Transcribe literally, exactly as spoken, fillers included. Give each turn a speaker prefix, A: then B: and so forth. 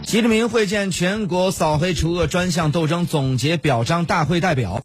A: 习近平会见全国扫黑除恶专项斗争总结表彰大会代表。